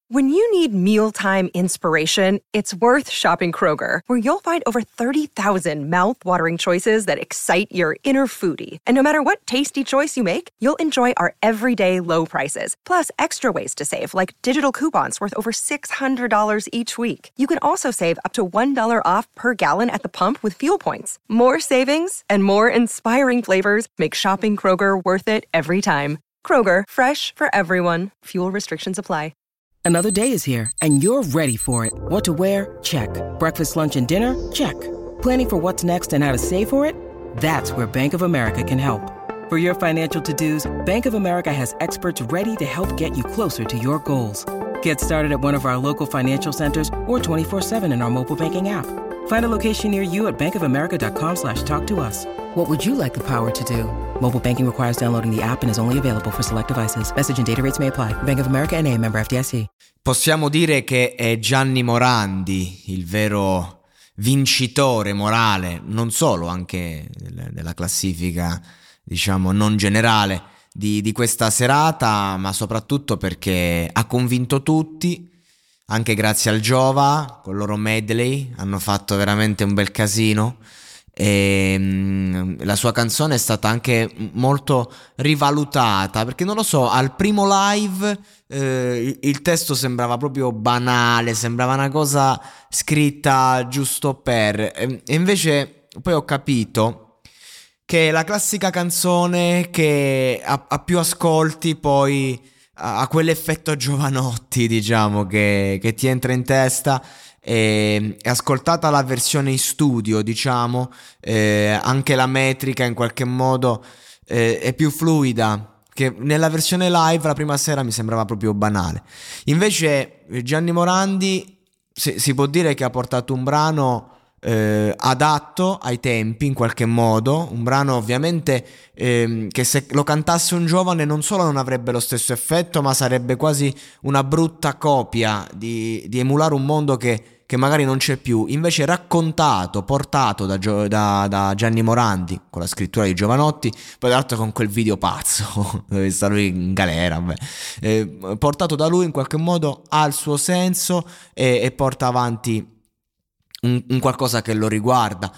When you need mealtime inspiration, it's worth shopping Kroger, where you'll find over 30,000 mouth-watering choices that excite your inner foodie. And no matter what tasty choice you make, you'll enjoy our everyday low prices, plus extra ways to save, like digital coupons worth over $600 each week. You can also save up to $1 off per gallon at the pump with fuel points. More savings and more inspiring flavors make shopping Kroger worth it every time. Kroger, fresh for everyone. Fuel restrictions apply. Another day is here, and you're ready for it. What to wear? Check. Breakfast, lunch, and dinner? Check. Planning for what's next and how to save for it? That's where Bank of America can help. For your financial to-dos, Bank of America has experts ready to help get you closer to your goals. Get started at one of our local financial centers or 24/7 in our mobile banking app. Find a location near you at bankofamerica.com/talktous. What would you like the power to do? Mobile banking requires downloading the app and is only available for select devices. Message and data rates may apply. Bank of America N.A., member FDIC. Possiamo dire che è Gianni Morandi il vero vincitore morale, non solo, anche della classifica, diciamo, non generale di questa serata, ma soprattutto perché ha convinto tutti, anche grazie al Giova, con il loro medley, hanno fatto veramente un bel casino. E la sua canzone è stata anche molto rivalutata, perché non lo so, al primo live il testo sembrava proprio banale, sembrava una cosa scritta giusto per, e invece poi ho capito che è la classica canzone che ha più ascolti, poi ha quell'effetto Giovanotti, diciamo, che ti entra in testa. E ascoltata la versione in studio, diciamo, anche la metrica in qualche modo è più fluida, che nella versione live la prima sera mi sembrava proprio banale. Invece Gianni Morandi si può dire che ha portato un brano adatto ai tempi, in qualche modo, un brano ovviamente che se lo cantasse un giovane non solo non avrebbe lo stesso effetto, ma sarebbe quasi una brutta copia di emulare un mondo che magari non c'è più. Invece raccontato, portato da Gianni Morandi con la scrittura di Giovanotti, poi tra l'altro con quel video pazzo dove sta lui in galera, portato da lui, in qualche modo ha il suo senso e porta avanti un qualcosa che lo riguarda,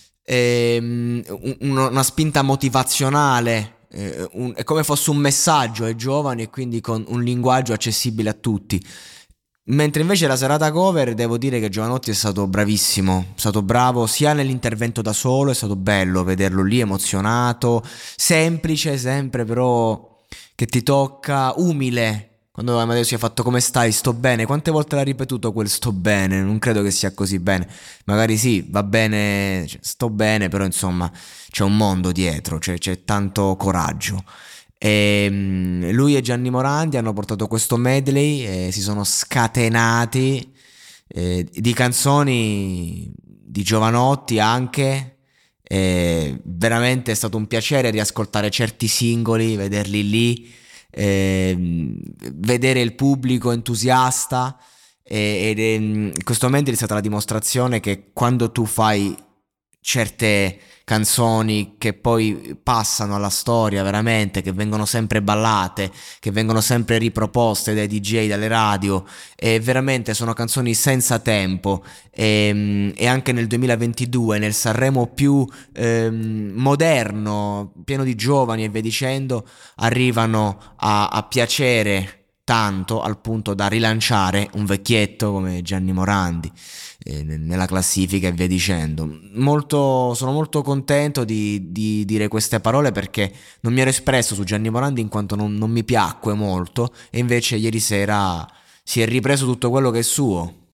una spinta motivazionale, è come fosse un messaggio ai giovani e quindi con un linguaggio accessibile a tutti. Mentre invece la serata cover, devo dire che Giovanotti è stato bravissimo, è stato bravo sia nell'intervento da solo, è stato bello vederlo lì emozionato, semplice sempre, però che ti tocca, umile. Quando Amadeus si è fatto "come stai? Sto bene", quante volte l'ha ripetuto quel "sto bene"? Non credo che sia così bene, magari sì, va bene, cioè, sto bene, però insomma c'è un mondo dietro, c'è tanto coraggio. E lui e Gianni Morandi hanno portato questo medley e si sono scatenati di canzoni di Giovanotti anche. Veramente è stato un piacere riascoltare certi singoli, vederli lì, vedere il pubblico entusiasta, ed questo medley è stata la dimostrazione che quando tu fai certe canzoni che poi passano alla storia veramente, che vengono sempre ballate, che vengono sempre riproposte dai DJ, dalle radio, e veramente sono canzoni senza tempo, e anche nel 2022 nel Sanremo più moderno, pieno di giovani e via dicendo, arrivano a piacere tanto al punto da rilanciare un vecchietto come Gianni Morandi nella classifica e via dicendo. Sono molto contento di dire queste parole, perché non mi ero espresso su Gianni Morandi in quanto non mi piacque molto, e invece ieri sera si è ripreso tutto quello che è suo.